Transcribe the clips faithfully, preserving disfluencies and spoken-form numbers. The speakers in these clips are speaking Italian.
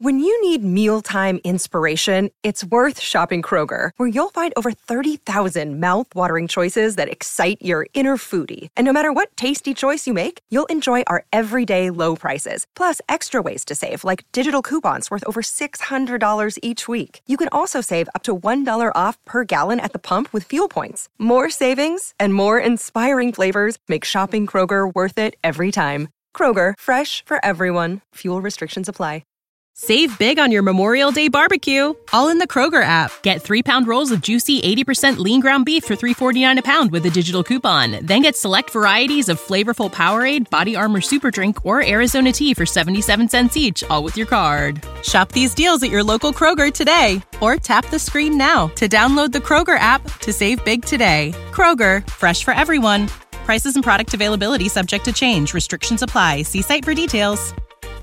When you need mealtime inspiration, it's worth shopping Kroger, where you'll find over thirty thousand mouth-watering choices that excite your inner foodie. And no matter what tasty choice you make, you'll enjoy our everyday low prices, plus extra ways to save, like digital coupons worth over six hundred dollars each week. You can also save up to one dollar off per gallon at the pump with fuel points. More savings and more inspiring flavors make shopping Kroger worth it every time. Kroger, fresh for everyone. Fuel restrictions apply. Save big on your Memorial Day barbecue, all in the Kroger app. Get three-pound rolls of juicy eighty percent lean ground beef for three forty-nine a pound with a digital coupon. Then get select varieties of flavorful Powerade, Body Armor Super Drink, or Arizona tea for seventy-seven cents each, all with your card. Shop these deals at your local Kroger today, or tap the screen now to download the Kroger app to save big today. Kroger, fresh for everyone. Prices and product availability subject to change. Restrictions apply. See site for details.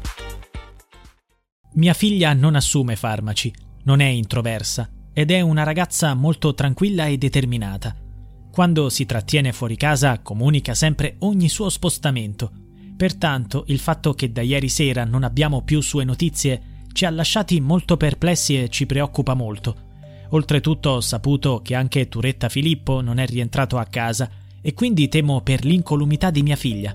Mia figlia non assume farmaci, non è introversa ed è una ragazza molto tranquilla e determinata. Quando si trattiene fuori casa comunica sempre ogni suo spostamento. Pertanto il fatto che da ieri sera non abbiamo più sue notizie ci ha lasciati molto perplessi e ci preoccupa molto. Oltretutto ho saputo che anche Turetta Filippo non è rientrato a casa e quindi temo per l'incolumità di mia figlia.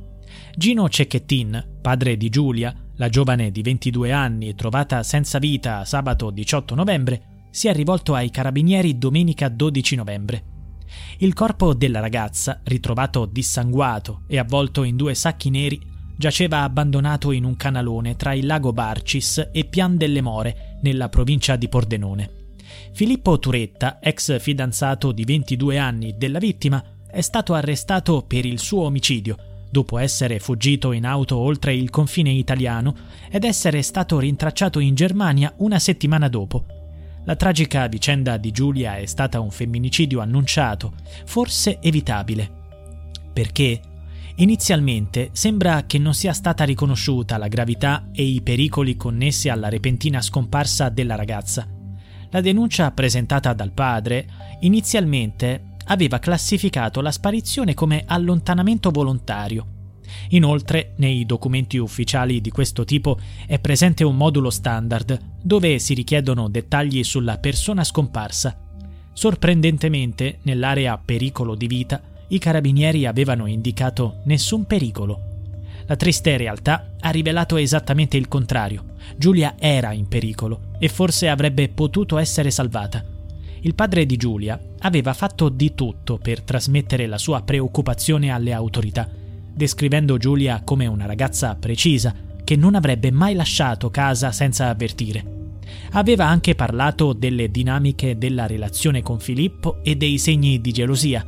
Gino Cecchettin, padre di Giulia, la giovane di ventidue anni trovata senza vita sabato diciotto novembre, si è rivolto ai carabinieri domenica dodici novembre. Il corpo della ragazza, ritrovato dissanguato e avvolto in due sacchi neri, giaceva abbandonato in un canalone tra il lago Barcis e Pian delle More, nella provincia di Pordenone. Filippo Turetta, ex fidanzato di ventidue anni della vittima, è stato arrestato per il suo omicidio, dopo essere fuggito in auto oltre il confine italiano ed essere stato rintracciato in Germania una settimana dopo. La tragica vicenda di Giulia è stata un femminicidio annunciato, forse evitabile. Perché? Inizialmente sembra che non sia stata riconosciuta la gravità e i pericoli connessi alla repentina scomparsa della ragazza. La denuncia presentata dal padre inizialmente aveva classificato la sparizione come allontanamento volontario. Inoltre, nei documenti ufficiali di questo tipo è presente un modulo standard dove si richiedono dettagli sulla persona scomparsa. Sorprendentemente, nell'area pericolo di vita, i carabinieri avevano indicato nessun pericolo. La triste realtà ha rivelato esattamente il contrario. Giulia era in pericolo e forse avrebbe potuto essere salvata. Il padre di Giulia aveva fatto di tutto per trasmettere la sua preoccupazione alle autorità, descrivendo Giulia come una ragazza precisa che non avrebbe mai lasciato casa senza avvertire. Aveva anche parlato delle dinamiche della relazione con Filippo e dei segni di gelosia.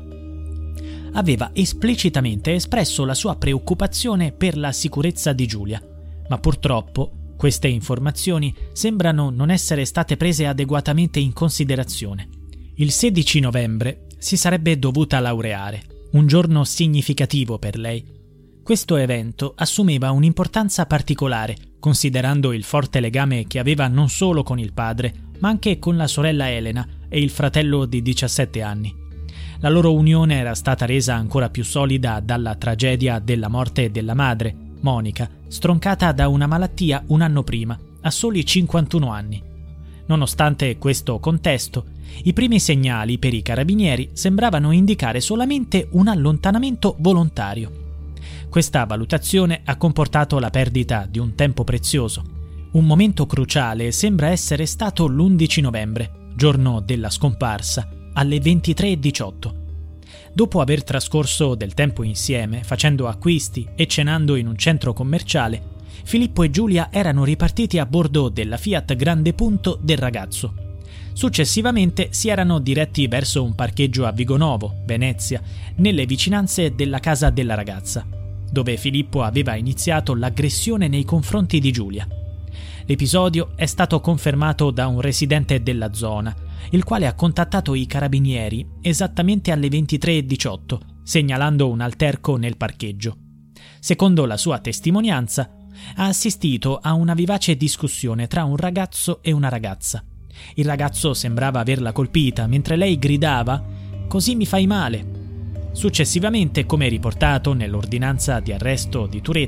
Aveva esplicitamente espresso la sua preoccupazione per la sicurezza di Giulia, ma purtroppo queste informazioni sembrano non essere state prese adeguatamente in considerazione. Il sedici novembre si sarebbe dovuta laureare, un giorno significativo per lei. Questo evento assumeva un'importanza particolare, considerando il forte legame che aveva non solo con il padre, ma anche con la sorella Elena e il fratello di diciassette anni. La loro unione era stata resa ancora più solida dalla tragedia della morte della madre, Monica, stroncata da una malattia un anno prima, a soli cinquantuno anni. Nonostante questo contesto, i primi segnali per i carabinieri sembravano indicare solamente un allontanamento volontario. Questa valutazione ha comportato la perdita di un tempo prezioso. Un momento cruciale sembra essere stato l'undici novembre, giorno della scomparsa, alle ventitré e diciotto. Dopo aver trascorso del tempo insieme, facendo acquisti e cenando in un centro commerciale, Filippo e Giulia erano ripartiti a bordo della Fiat Grande Punto del ragazzo. Successivamente si erano diretti verso un parcheggio a Vigonovo, Venezia, nelle vicinanze della casa della ragazza, dove Filippo aveva iniziato l'aggressione nei confronti di Giulia. L'episodio è stato confermato da un residente della zona, il quale ha contattato i carabinieri esattamente alle ventitré e diciotto, segnalando un alterco nel parcheggio. Secondo la sua testimonianza, ha assistito a una vivace discussione tra un ragazzo e una ragazza. Il ragazzo sembrava averla colpita, mentre lei gridava «Così mi fai male». Successivamente, come riportato nell'ordinanza di arresto di Turetta,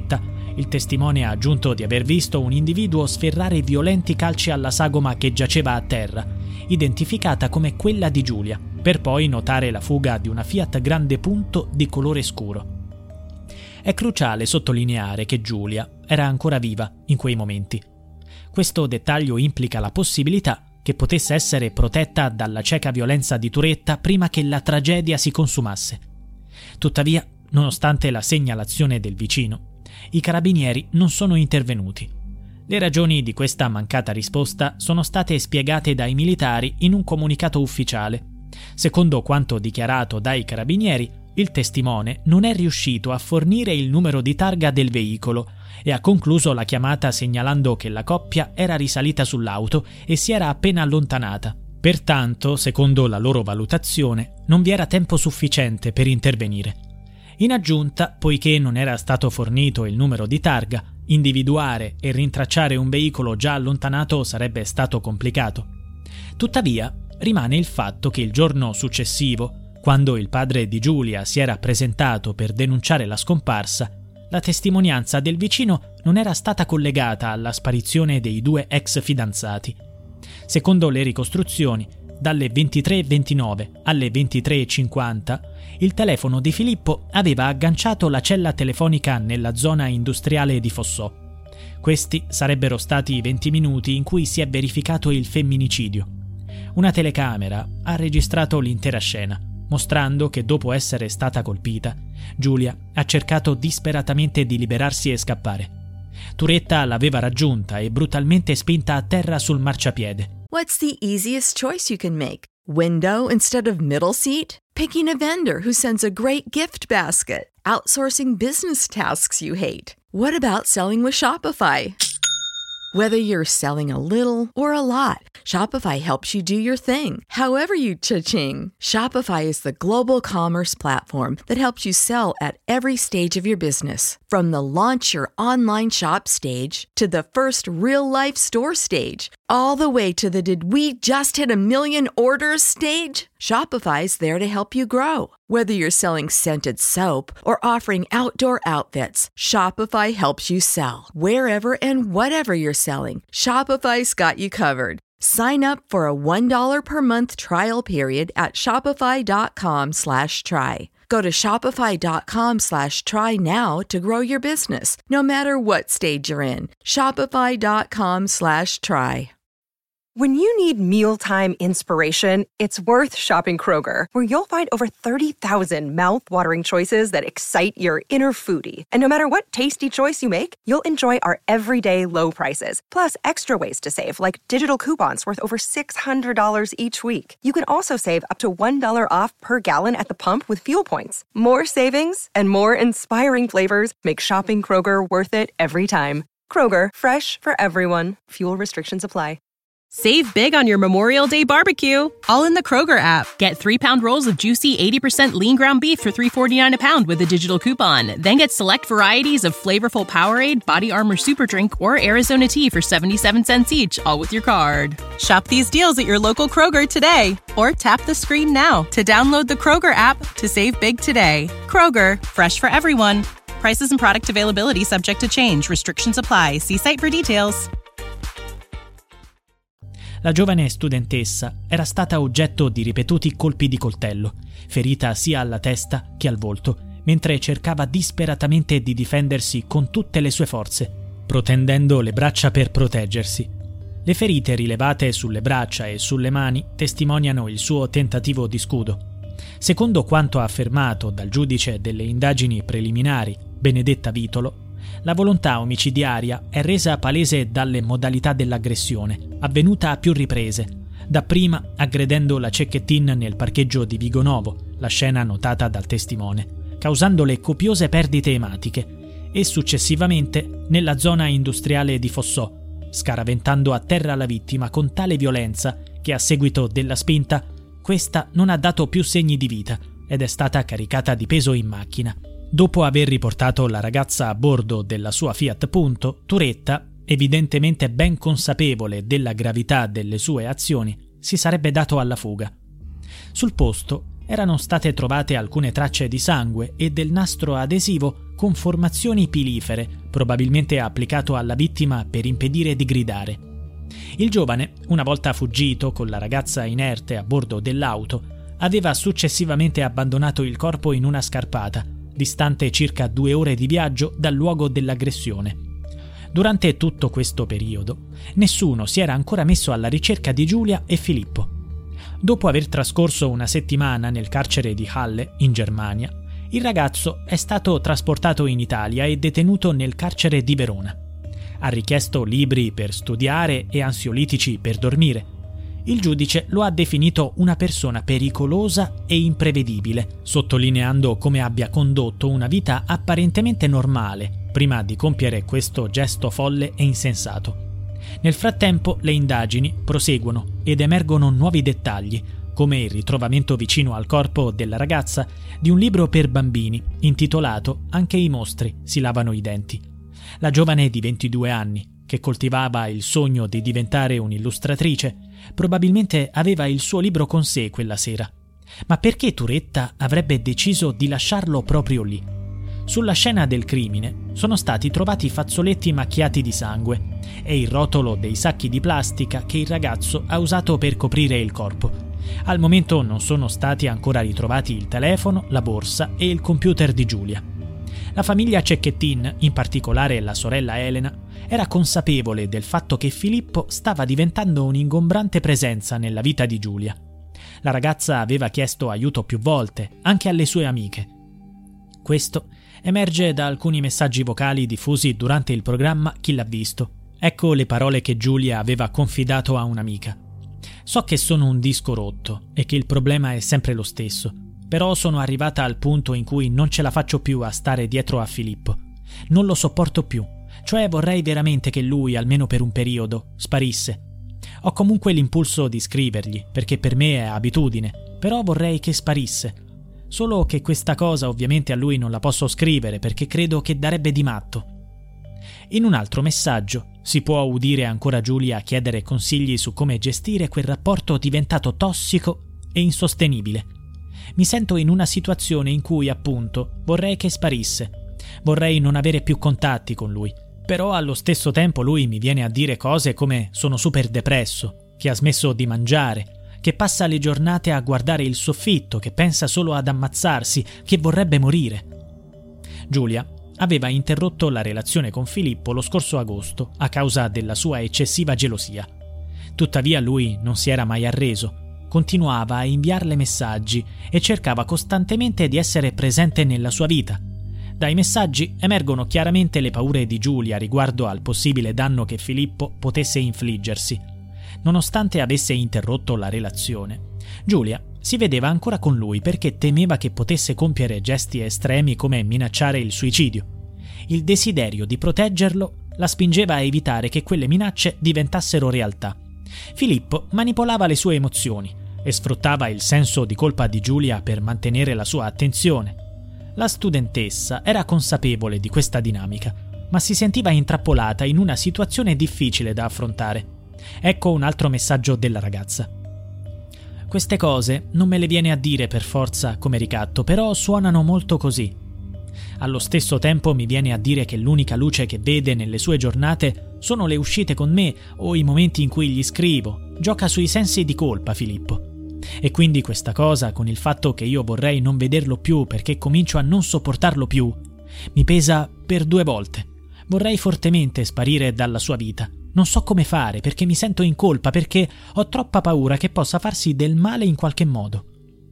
Il testimone ha aggiunto di aver visto un individuo sferrare violenti calci alla sagoma che giaceva a terra, identificata come quella di Giulia, per poi notare la fuga di una Fiat Grande Punto di colore scuro. È cruciale sottolineare che Giulia era ancora viva in quei momenti. Questo dettaglio implica la possibilità che potesse essere protetta dalla cieca violenza di Turetta prima che la tragedia si consumasse. Tuttavia, nonostante la segnalazione del vicino, i carabinieri non sono intervenuti. Le ragioni di questa mancata risposta sono state spiegate dai militari in un comunicato ufficiale. Secondo quanto dichiarato dai carabinieri, il testimone non è riuscito a fornire il numero di targa del veicolo e ha concluso la chiamata segnalando che la coppia era risalita sull'auto e si era appena allontanata. Pertanto, secondo la loro valutazione, non vi era tempo sufficiente per intervenire. In aggiunta, poiché non era stato fornito il numero di targa, individuare e rintracciare un veicolo già allontanato sarebbe stato complicato. Tuttavia, rimane il fatto che il giorno successivo, quando il padre di Giulia si era presentato per denunciare la scomparsa, la testimonianza del vicino non era stata collegata alla sparizione dei due ex fidanzati. Secondo le ricostruzioni, dalle ventitré e ventinove alle ventitré e cinquanta, il telefono di Filippo aveva agganciato la cella telefonica nella zona industriale di Fossò. Questi sarebbero stati i venti minuti in cui si è verificato il femminicidio. Una telecamera ha registrato l'intera scena, mostrando che dopo essere stata colpita, Giulia ha cercato disperatamente di liberarsi e scappare. Turetta l'aveva raggiunta e brutalmente spinta a terra sul marciapiede. What's the easiest choice you can make? Window instead of middle seat? Picking a vendor who sends a great gift basket? Outsourcing business tasks you hate? What about selling with Shopify? Whether you're selling a little or a lot, Shopify helps you do your thing, however you cha-ching. Shopify is the global commerce platform that helps you sell at every stage of your business. From the launch your online shop stage to the first real-life store stage, all the way to the did we just hit a million orders stage? Shopify's there to help you grow. Whether you're selling scented soap or offering outdoor outfits, Shopify helps you sell. Wherever and whatever you're selling, Shopify's got you covered. Sign up for a one dollar per month trial period at shopify.com slash try. Go to shopify.com slash try now to grow your business, no matter what stage you're in. Shopify.com slash try. When you need mealtime inspiration, it's worth shopping Kroger, where you'll find over thirty thousand mouth-watering choices that excite your inner foodie. And no matter what tasty choice you make, you'll enjoy our everyday low prices, plus extra ways to save, like digital coupons worth over six hundred dollars each week. You can also save up to one dollar off per gallon at the pump with fuel points. More savings and more inspiring flavors make shopping Kroger worth it every time. Kroger, fresh for everyone. Fuel restrictions apply. Save big on your Memorial Day barbecue, all in the Kroger app. Get three-pound rolls of juicy eighty percent lean ground beef for three forty-nine a pound with a digital coupon. Then get select varieties of flavorful Powerade, Body Armor Super Drink, or Arizona tea for seventy-seven cents each, all with your card. Shop these deals at your local Kroger today, or tap the screen now to download the Kroger app to save big today. Kroger, fresh for everyone. Prices and product availability subject to change. Restrictions apply. See site for details. La giovane studentessa era stata oggetto di ripetuti colpi di coltello, ferita sia alla testa che al volto, mentre cercava disperatamente di difendersi con tutte le sue forze, protendendo le braccia per proteggersi. Le ferite rilevate sulle braccia e sulle mani testimoniano il suo tentativo di scudo. Secondo quanto affermato dal giudice delle indagini preliminari, Benedetta Vitolo, la volontà omicidiaria è resa palese dalle modalità dell'aggressione, avvenuta a più riprese, dapprima aggredendo la Cecchettin nel parcheggio di Vigonovo, la scena notata dal testimone, causandole copiose perdite ematiche, e successivamente nella zona industriale di Fossò, scaraventando a terra la vittima con tale violenza che a seguito della spinta questa non ha dato più segni di vita ed è stata caricata di peso in macchina. Dopo aver riportato la ragazza a bordo della sua Fiat Punto, Turetta, evidentemente ben consapevole della gravità delle sue azioni, si sarebbe dato alla fuga. Sul posto erano state trovate alcune tracce di sangue e del nastro adesivo con formazioni pilifere, probabilmente applicato alla vittima per impedire di gridare. Il giovane, una volta fuggito con la ragazza inerte a bordo dell'auto, aveva successivamente abbandonato il corpo in una scarpata, distante circa due ore di viaggio dal luogo dell'aggressione. Durante tutto questo periodo, nessuno si era ancora messo alla ricerca di Giulia e Filippo. Dopo aver trascorso una settimana nel carcere di Halle, in Germania, il ragazzo è stato trasportato in Italia e detenuto nel carcere di Verona. Ha richiesto libri per studiare e ansiolitici per dormire. Il giudice lo ha definito una persona pericolosa e imprevedibile, sottolineando come abbia condotto una vita apparentemente normale prima di compiere questo gesto folle e insensato. Nel frattempo le indagini proseguono ed emergono nuovi dettagli, come il ritrovamento vicino al corpo della ragazza di un libro per bambini intitolato Anche i mostri si lavano i denti. La giovane di ventidue anni, che coltivava il sogno di diventare un'illustratrice, probabilmente aveva il suo libro con sé quella sera. Ma perché Turetta avrebbe deciso di lasciarlo proprio lì? Sulla scena del crimine sono stati trovati fazzoletti macchiati di sangue e il rotolo dei sacchi di plastica che il ragazzo ha usato per coprire il corpo. Al momento non sono stati ancora ritrovati il telefono, la borsa e il computer di Giulia. La famiglia Cecchettin, in particolare la sorella Elena, era consapevole del fatto che Filippo stava diventando un'ingombrante presenza nella vita di Giulia. La ragazza aveva chiesto aiuto più volte, anche alle sue amiche. Questo emerge da alcuni messaggi vocali diffusi durante il programma Chi l'ha visto. Ecco le parole che Giulia aveva confidato a un'amica. So che sono un disco rotto e che il problema è sempre lo stesso, però sono arrivata al punto in cui non ce la faccio più a stare dietro a Filippo. Non lo sopporto più, cioè vorrei veramente che lui, almeno per un periodo, sparisse. Ho comunque l'impulso di scrivergli, perché per me è abitudine, però vorrei che sparisse. Solo che questa cosa ovviamente a lui non la posso scrivere perché credo che darebbe di matto. In un altro messaggio si può udire ancora Giulia chiedere consigli su come gestire quel rapporto diventato tossico e insostenibile. Mi sento in una situazione in cui, appunto, vorrei che sparisse. Vorrei non avere più contatti con lui. Però allo stesso tempo lui mi viene a dire cose come sono super depresso, che ha smesso di mangiare, che passa le giornate a guardare il soffitto, che pensa solo ad ammazzarsi, che vorrebbe morire. Giulia aveva interrotto la relazione con Filippo lo scorso agosto a causa della sua eccessiva gelosia. Tuttavia lui non si era mai arreso, continuava a inviarle messaggi e cercava costantemente di essere presente nella sua vita. Dai messaggi emergono chiaramente le paure di Giulia riguardo al possibile danno che Filippo potesse infliggersi. Nonostante avesse interrotto la relazione, Giulia si vedeva ancora con lui perché temeva che potesse compiere gesti estremi come minacciare il suicidio. Il desiderio di proteggerlo la spingeva a evitare che quelle minacce diventassero realtà. Filippo manipolava le sue emozioni e sfruttava il senso di colpa di Giulia per mantenere la sua attenzione. La studentessa era consapevole di questa dinamica, ma si sentiva intrappolata in una situazione difficile da affrontare. Ecco un altro messaggio della ragazza. Queste cose non me le viene a dire per forza come ricatto, però suonano molto così. Allo stesso tempo mi viene a dire che l'unica luce che vede nelle sue giornate sono le uscite con me o i momenti in cui gli scrivo. Gioca sui sensi di colpa, Filippo. E quindi questa cosa, con il fatto che io vorrei non vederlo più perché comincio a non sopportarlo più, mi pesa per due volte. Vorrei fortemente sparire dalla sua vita. Non so come fare perché mi sento in colpa, perché ho troppa paura che possa farsi del male in qualche modo.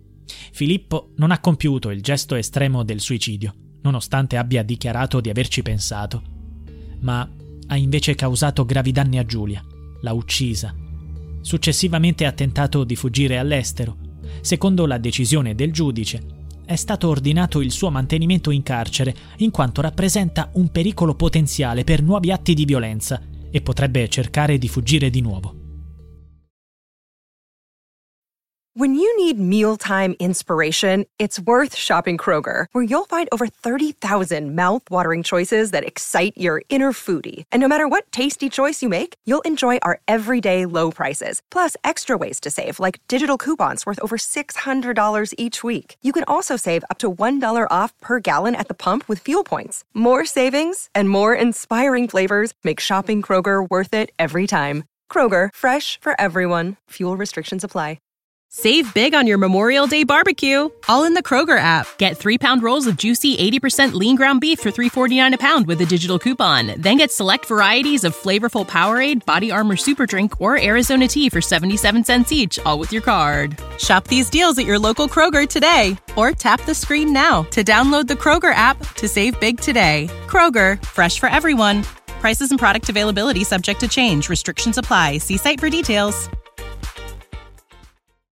Filippo non ha compiuto il gesto estremo del suicidio, nonostante abbia dichiarato di averci pensato, ma ha invece causato gravi danni a Giulia, l'ha uccisa. Successivamente ha tentato di fuggire all'estero. Secondo la decisione del giudice, è stato ordinato il suo mantenimento in carcere in quanto rappresenta un pericolo potenziale per nuovi atti di violenza e potrebbe cercare di fuggire di nuovo. When you need mealtime inspiration, it's worth shopping Kroger, where you'll find over thirty thousand mouth-watering choices that excite your inner foodie. And no matter what tasty choice you make, you'll enjoy our everyday low prices, plus extra ways to save, like digital coupons worth over six hundred dollars each week. You can also save up to one dollar off per gallon at the pump with fuel points. More savings and more inspiring flavors make shopping Kroger worth it every time. Kroger, fresh for everyone. Fuel restrictions apply. Save big on your Memorial Day barbecue, all in the Kroger app. Get three-pound rolls of juicy eighty percent lean ground beef for three forty-nine a pound with a digital coupon. Then get select varieties of flavorful Powerade, Body Armor Super Drink, or Arizona tea for seventy-seven cents each, all with your card. Shop these deals at your local Kroger today, or tap the screen now to download the Kroger app to save big today. Kroger, fresh for everyone. Prices and product availability subject to change. Restrictions apply. See site for details.